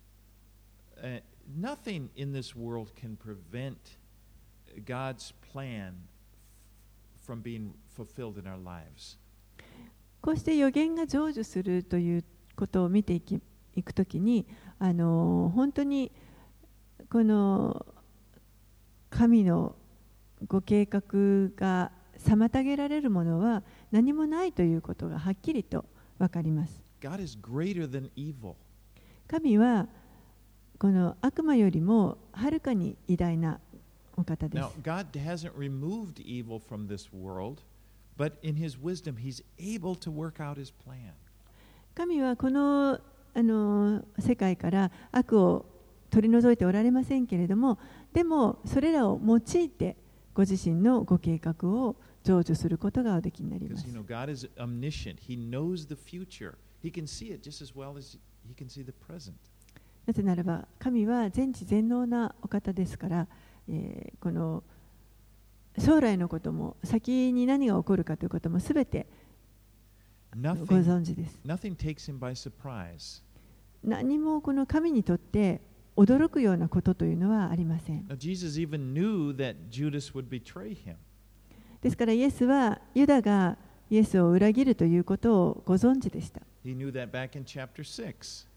Nothing in this world can prevent God's plan from being fulfilled in our lives.
こうして予言が成就するということを見ていくときに、本当にこの神のご計画が妨げられるものは何もないということがはっきりと分かります。
God is greater than evil.
神はこの悪魔よりもはるかに偉大なお方です。
Now, God hasn't removed evil from this world, but in His wisdom, He's able to work out His plan.
神はこの世界から悪を取り除いておられませんけれども、でもそれらを用いてご自身のご計画を成就することがおできになりま
Because
す。
you know, God is omniscient. He knows the future. He can see it just as well as He can see the present.
なぜならば神は全知全能なお方ですから、この将来のことも先に何が起こるかということもすべてご
Nothing,
存知です。
nothing takes Him by surprise.
何もこの神にとって驚くようなことというのはありません。
Now, Jesus even knew that Judas would betray Him.
ですからイエスはユダがイエスを裏切るということをご存知でした。
He knew that back in chapter 6.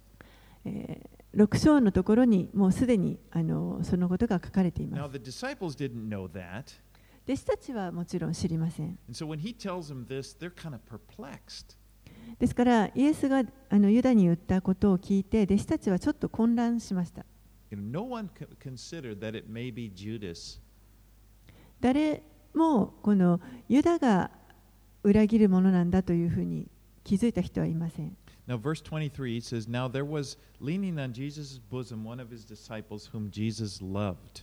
6章のところにもうすでにそのことが書かれていま
Now,
す。
the disciples didn't know that.
弟子たちはもちろん知りません。
And so when He tells them this, they're kind of perplexed.
ですからイエスがユダに言ったことを聞いて弟子たちはちょっと混乱しました。
No one considered that it may be Judas.
誰もこのユダが裏切るものなんだというふうに気づいた人はいません。
Now, verse 23 says, Now there was leaning on Jesus' bosom one of His disciples whom Jesus loved.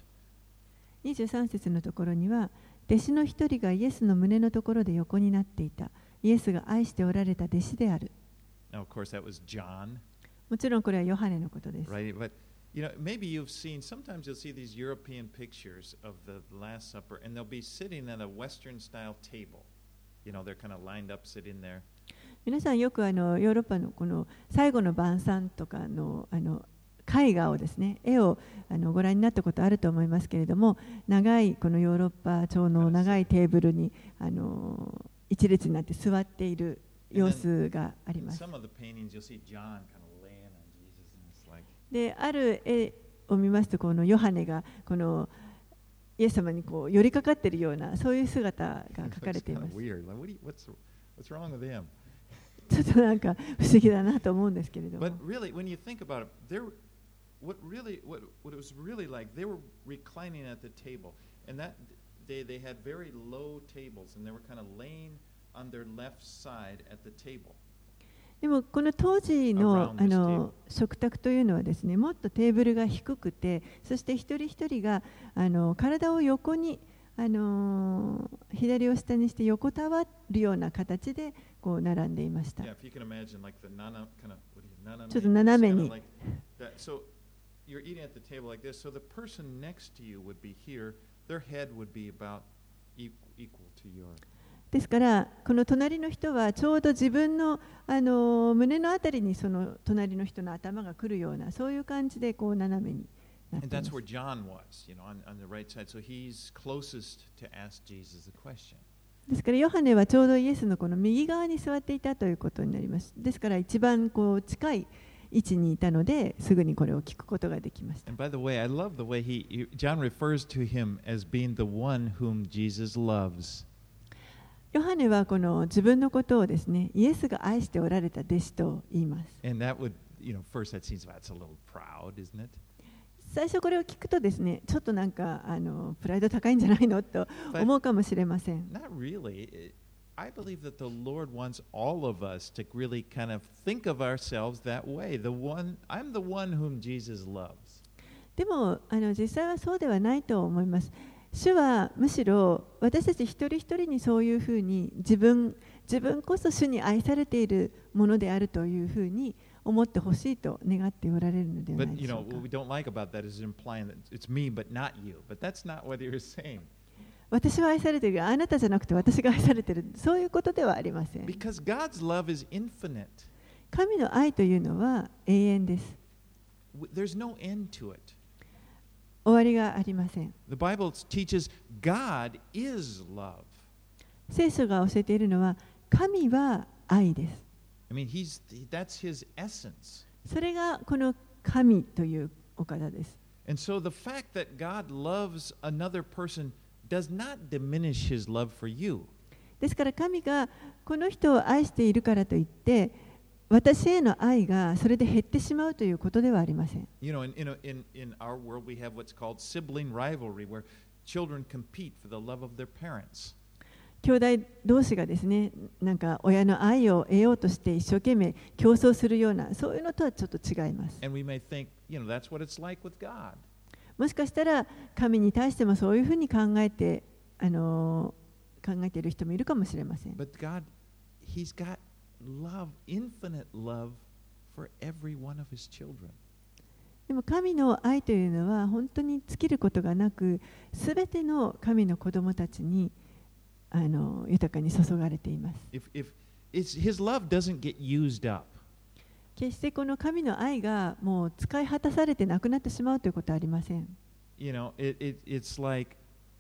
23節のところには、弟子の一人がイエスの胸のところで横になっていた。イエスが愛しておられた弟子である。
Now, of course, that was John,
もちろんこれはヨハネのことです。
right? But you know, maybe you've seen. Sometimes you'll see these European pictures of the Last Supper, and they'll be sitting at a Western-style table. You know, they're kind of lined up, sitting there.
皆さんよくヨーロッパのこの最後の晩餐とかの絵画をですね、絵をご覧になったことあると思いますけれども、長いこのヨーロッパ調の長いテーブルに一列になって座っている様子があります。
Some of the paintings you'll see John kind of laying on Jesus, and it's like.
で、ある絵を見ますと、このヨハネがこのイエス様にこう寄りかかっているようなそういう姿が書かれています。
Weird. Like, what's wrong with him?
ちょっとなんか不思議だなと思うんですけれども。
But really, when you think about it, what it was really like, they were reclining at the table, and that day they had very low tables, and they were kind of laying on their left side at the table.
でもこの当時の
Around this table.
食卓というのはですね、もっとテーブルが低くて、そして一人一人が体を横に左を下にして横たわるような形でこう並んでいました。
Yeah, if you can imagine like the nana, kind of, what do you, nana,
ちょっと斜め
kind
に
of like that. So you're eating at the table like this. So the person next to you would be here. Their head would be about equal to yours.
ですからこの隣の人はちょうど自分の胸のあたりにその隣の人の頭が来るようなそういう感じでこう斜めになってい
And
ま
that's
す。
where John was, on the right side. So he's closest to ask Jesus the question.
ですからヨハネはちょうどイエスのこの右側に座っていたということになります。ですから一番こう近い位置にいたのですぐにこれを聞くことができました。
And by the way, I love the way John refers to him as being the one whom Jesus loves.
ヨハネはこの自分のことをですね、イエスが愛しておられた弟子と言います。
And that would, first that seems that's a little proud, isn't it?
最初これを聞くとですね、ちょっとなんかプライド高いんじゃないのと思うかもしれません。
Not really. I believe that the Lord wants all of us to really kind of think of ourselves that way. I'm the one whom Jesus loves.
でも実際はそうではないと思います。主はむしろ私たち一人一人にそういうふうに自分こそ主に愛されているものであるというふうに思ってほしいと願っておられるのではな
But
いでしょうか。
what we don't like about that is implying that it's me but not you. But that's not what you're saying.
私は愛されている、あなたじゃなくて私が愛されている、そういうことではありません。
Because God's love is infinite.
神の愛というのは永遠です。
There's no end to it.
終わりがありません。
The Bible teaches God is love.
聖書が教えているのは神は愛です。
I mean, that's his essence.
それがこの神というお方です。
And so the fact that God loves another person does not diminish his love for you.
ですから神がこの人を愛しているからといって私への愛がそれで減ってしまうということではありません。
In our world we have what's called sibling rivalry where children compete for the love of their parents.
兄弟同士がですね、なんか親の愛を得ようとして一生懸命競争するようなそういうのとはちょっと違います。
And we may think, that's what it's like with God.
もしかしたら神に対してもそういうふうに考えている人もいるかもしれません。
But God, He's got love, infinite love for every one of His children.
でも神の愛というのは本当に尽きることがなく、すべての神の子供たちに豊かに注がれています。
His love doesn't get used up.
決してこの神の愛がもう使い果たされてなくなってしまうということはありません。
It's like,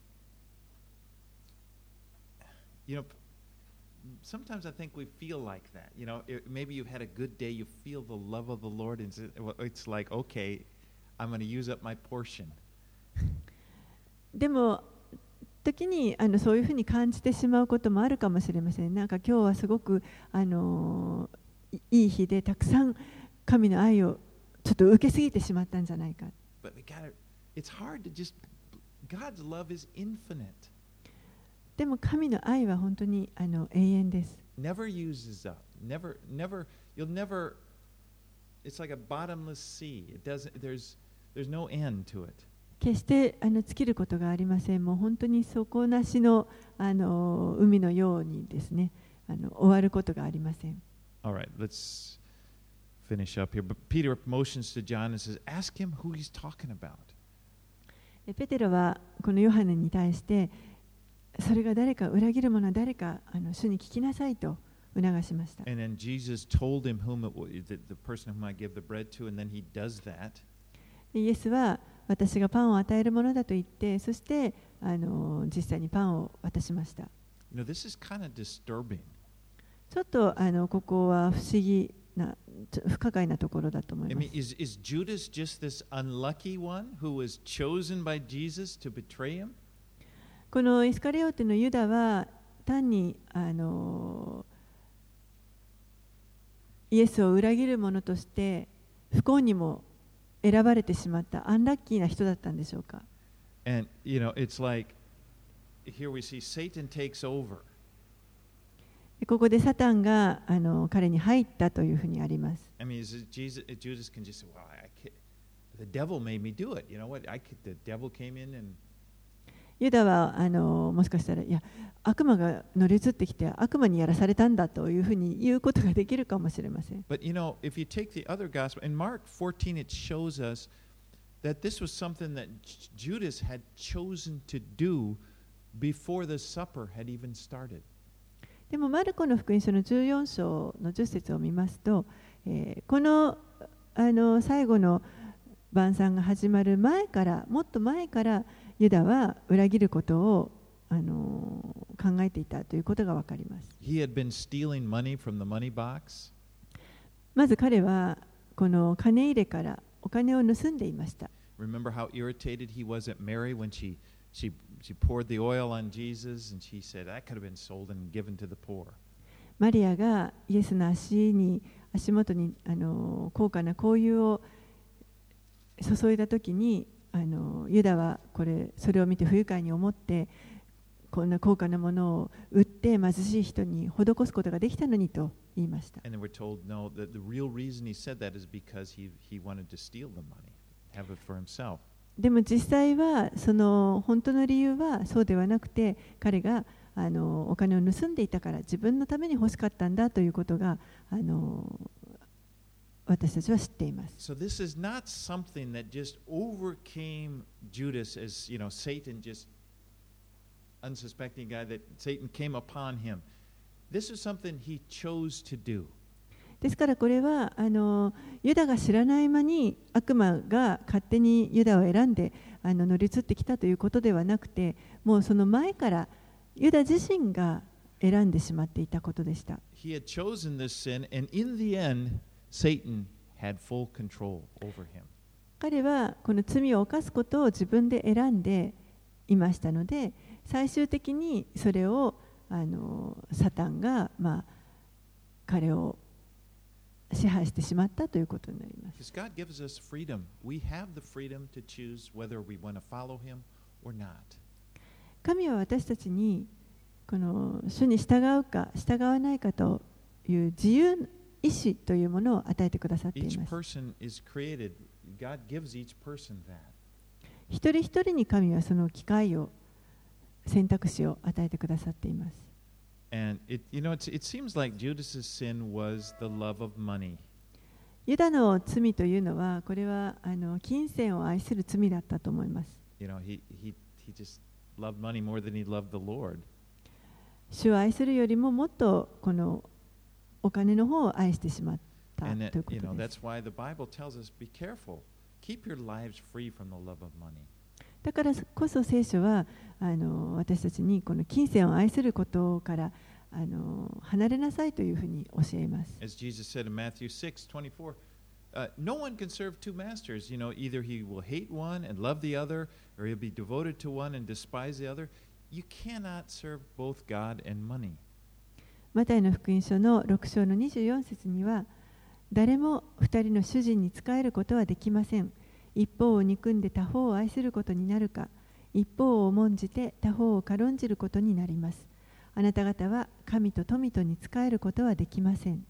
sometimes I think we feel like that. Maybe you've had a good day, you feel the love of the Lord, and it's like, okay, I'm going to use up my portion.
でも時にそういうふうに感じてしまうこともあるかもしれません。なんか今日はすごくいい日でたくさん神の愛をちょっと受けすぎてしまったんじゃないか。
But it's hard to just, God's love is infinite.
でも神の愛は本当に永遠です。
Never uses up. You'll never, it's like a bottomless sea. There's no end to it.
決して尽きることがありません。もう本当に底なしの海のようにですね、終わることがありません。
All right, let's finish up here. But Peter motions to John and says, "Ask him who he's talking about."
ペテロはこのヨハネに対して、それが誰か、裏切る者は誰か、主に聞きなさいと促しました。
And then Jesus told him the person whom I give the bread to, and then he does that.
イエスは私がパンを与えるものだと言って、そして実際にパンを渡しました。
This is kind of disturbing.
ちょっとここは不思議な、不可解なところだと思い
I
ます。
mean, is Judas just this unlucky one who was chosen by Jesus to betray him?
このイスカリオテのユダは単にイエスを裏切る者として不幸にも選ばれてしまったアンラッキーな人だったんでしょうか。
And, it's like, here we see Satan takes over.
ここでサタンが彼に入ったというふうにあります。
I mean, Judas can just say, well, the devil made me do it. You know what? The devil came in and
ユダはもしかしたらいや悪魔が乗り移ってきて悪魔にやらされたんだというふうに言うことができるかもしれません。
But if you take the other gospel, in Mark 14, it shows us that this was something that Judas had chosen to do before the supper had even started.
でもマルコの福音書の14章の10節を見ますと、この最後の晩餐が始まる前からもっと前からユダは裏切ることを考えていたということがわかります。
He had been stealing money from the money box.
まず彼はこの金入れからお金を盗んでいました。
Remember how irritated he was at Mary when she poured the oil on Jesus and she said that could have been sold and given to the poor.
マリアがイエスの足元に高価な香油を注いだときにユダはそれを見て不愉快に思ってこんな高価なものを売って貧しい人に施すことができたのにと言いました。
And then we're told no, that the real reason he said that is because he wanted to steal the money, have it for himself.
でも実際はその本当の理由はそうではなくて彼がお金を盗んでいたから自分のために欲しかったんだということが私たちは知っています。
So this is not something that just overcame Judas as, Satan just unsuspecting guy that Satan came upon him. This is something he chose to do.
ですからこれはユダが知らない間に悪魔が勝手にユダを選んで乗り移ってきたということではなくて、もうその前からユダ自身が選んでしまっていたことでした。
He had chosen this sin, and in the end, Satan had full control over him.
彼はこの罪を犯すことを自分で選んでいましたので、最終的にそれをサタンが彼を支配してしまったということになります。
God gives us freedom. We have the freedom to choose whether we want to follow him or not.
神は私たちにこの主に従うか従わないかという自由意志というものを与えてくださっています。
Each person is created. God gives each person that.
一人一人に神はその機会を選択肢を与えてくださっています。
And it seems like Judas's sin was the love of money.
ユダの罪というのはこれは金銭を愛する罪だったと思います。
He just loved money more than he loved the Lord.
主を愛するよりももっとこのお金の方を愛してしまったということです。
That's why the Bible tells us, be careful. Keep your lives free from the love of money.
だからこそ聖書は私たちにこの金銭を愛することから離れなさいというふうに教えます。
As Jesus said in Matthew 6:24, no one can serve two masters. Either he will hate one and love the other, or he'll be devoted to one and despise the other. You cannot serve both God and money.
マタイの福音書の6章の24節には、誰も2人の主人に仕えることはできません。一方を憎んで他方を愛することになるか、一方を重んじて他方を軽んじることになります。あなた方は神と富とに仕えることはできません。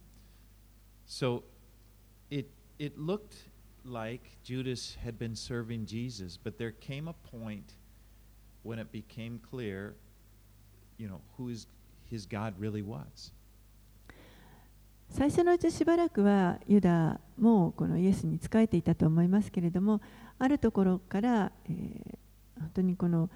So it looked like Judas had been serving Jesus, but there came a point when it became clear, who his God really was.
最初のうちしばらくはユダもこのイエスに仕えていたと思いますけれども、あるところから、本当にこの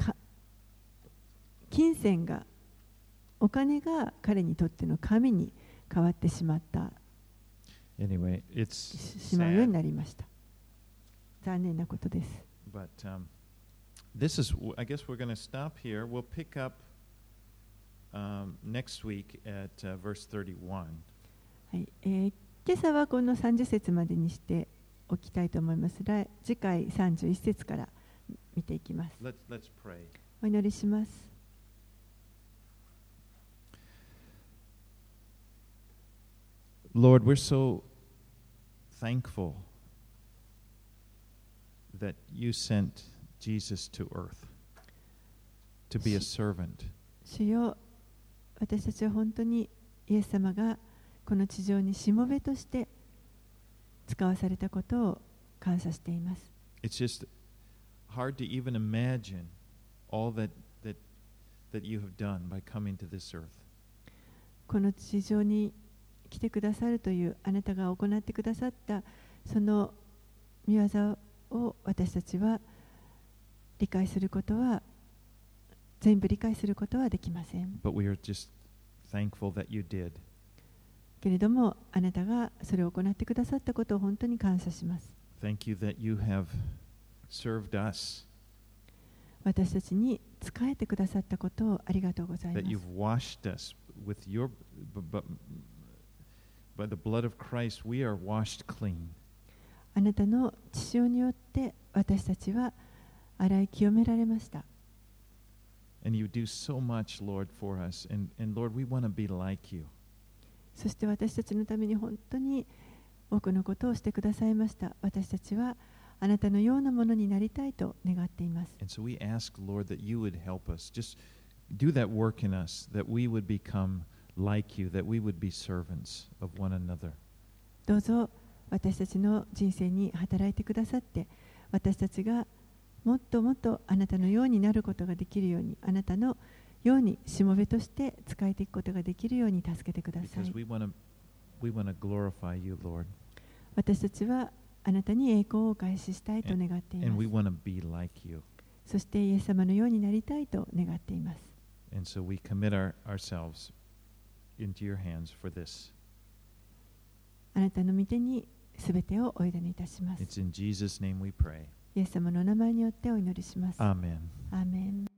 金銭がお金が彼にとっての神に変わってしまった、
Anyway,
しまうようになりました。残念なことです。
But this is, I guess we're going to stop here. We'll pick up next week at verse 31.
はい、今朝はこの30節までにしておきたいと思います。次回31節から見ていきます。
Let's pray.
お祈りします。
Lord, we're so thankful that you sent Jesus to earth to be a servant.
主よ、私たちは本当にイエス様がこの地上にしもべとして使わされたことを感謝しています。
It's just hard to even imagine all that you have done by coming to this earth.
この地上に来てくださるというあなたが行ってくださったその御業を私たちは理解することは全部理解することはできません。
But we are just thankful that you did.
けれどもあなたがそれを行ってくださったことを本当に感謝します。
Thank you that you have served us.
私たちに仕えてくださったことをありがとうございます。
That you've washed us with your by the blood of Christ we are washed clean.
あなたの血潮によって私たちは洗い清められました。
And you do so much, Lord, for us. And Lord, we want to be like you.
そして私たちのために本当に多くのことをしてくださいました。私たちはあなたのようなものになりたいと願っています。
And so we ask, Lord, that you would help us. Just do that work in us, that we would become like you, that we would be servants of one another.
どうぞ私たちの人生に働いてくださって、私たちがもっともっとあなたのようになることができるように、あなたのようにしもべとして仕えていくことができるように助けてください。
Because we want to glorify you, Lord.
私たちはあなたに栄光をお返ししたいと願ってい
And
ま
we
す。
want to be like you.
そしてイエス様のようになりたいと願っています。
And so we commit ourselves into your hands for this.
あなたの御手にすべてをお委ねいたします。
It's in Jesus' name we pray.
イエス様の名前によってお祈りします。
Amen.
アーメン。